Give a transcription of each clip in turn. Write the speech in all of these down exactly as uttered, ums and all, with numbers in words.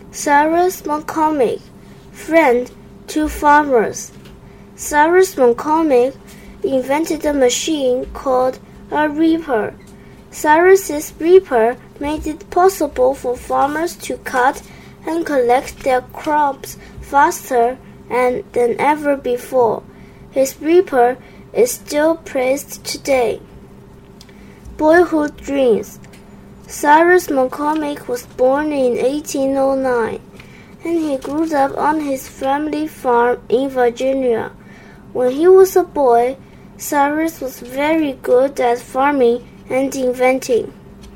Cyrus McCormick, friend to farmers. Cyrus McCormick invented a machine called a reaper. Cyrus's reaper made it possible for farmers to cut and collect their crops faster and than ever before. His reaper is still praised today. Boyhood dreams. Cyrus McCormick was born in eighteen oh nine, and he grew up on his family farm in Virginia. When he was a boy, Cyrus was very good at farming and inventing.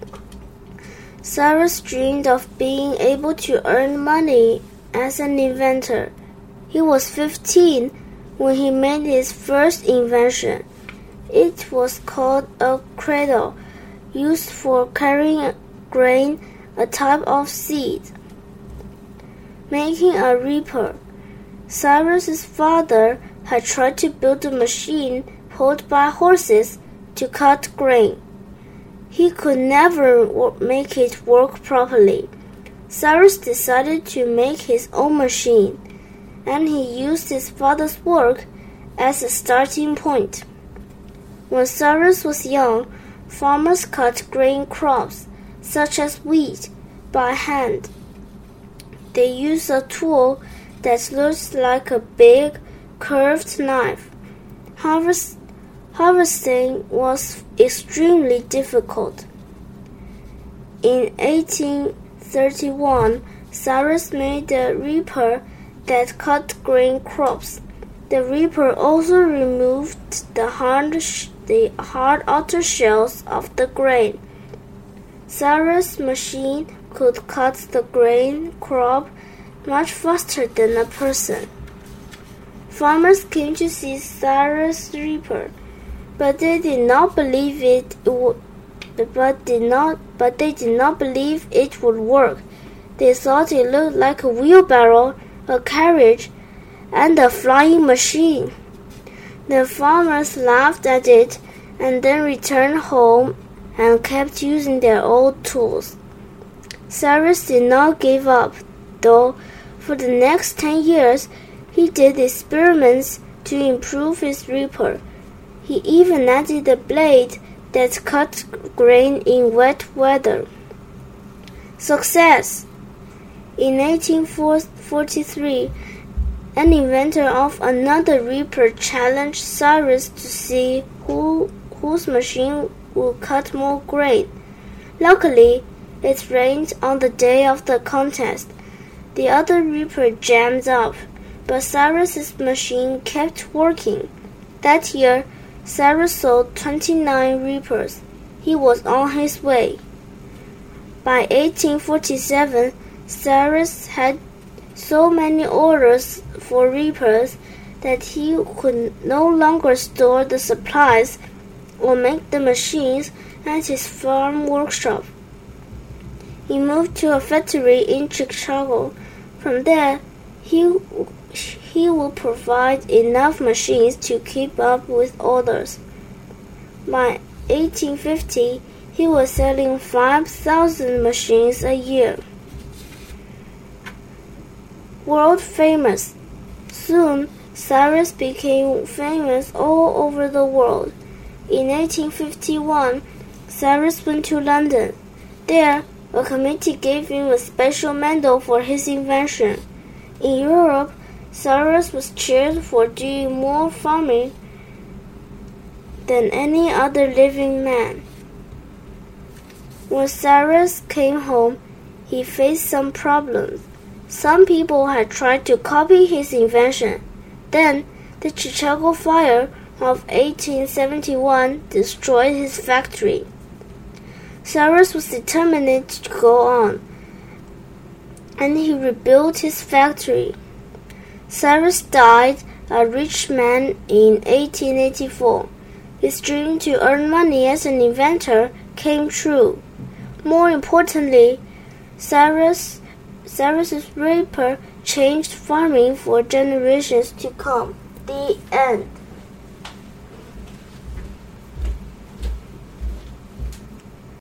Cyrus dreamed of being able to earn money as an inventor. He was fifteen when he made his first invention. It was called a cradle, used for carrying grain, a type of seed. Making a reaper. Cyrus's father had tried to build a machine pulled by horses to cut grain. He could never make it work properly. Cyrus decided to make his own machine, and he used his father's work as a starting point. When Cyrus was young, farmers cut grain crops, such as wheat, by hand. They used a tool that looked like a big, curved knife. Harvest, harvesting was extremely difficult. In eighteen thirty-one, Cyrus made a reaper that cut grain crops. The reaper also removed the hard, the hard outer shells of the grain. Cyrus' machine could cut the grain crop much faster than a person. Farmers came to see Cyrus' reaper, but they did not believe it would. But did not. But they did not believe it would work. They thought it looked like a wheelbarrow, a carriage, and a flying machine. The farmers laughed at it and then returned home and kept using their old tools. Cyrus did not give up, though. For the next ten years, he did experiments to improve his reaper. He even added a blade that cut grain in wet weather. Success. In eighteen forty-three, an inventor of another reaper challenged Cyrus to see who, whose machine would cut more grain. Luckily, it rained on the day of the contest. The other reaper jammed up, but Cyrus's machine kept working. That year, Cyrus sold twenty-nine reapers. He was on his way. By eighteen forty-seven, Cyrus had so many orders for reapers that he could no longer store the supplies or make the machines at his farm workshop. He moved to a factory in Chicago. From there, he, he would provide enough machines to keep up with orders. By eighteen fifty, he was selling five thousand machines a year. World famous. Soon, Cyrus became famous all over the world. In eighteen fifty-one, Cyrus went to London. There, a committee gave him a special medal for his invention. In Europe, Cyrus was cheered for doing more farming than any other living man. When Cyrus came home, he faced some problems. Some people had tried to copy his invention. Then, the Chicago fire of eighteen seventy-one destroyed his factory. Cyrus was determined to go on, and he rebuilt his factory. Cyrus died a rich man in eighteen eighty-four. His dream to earn money as an inventor came true. More importantly, Cyrus, Cyrus's reaper changed farming for generations to come. The end.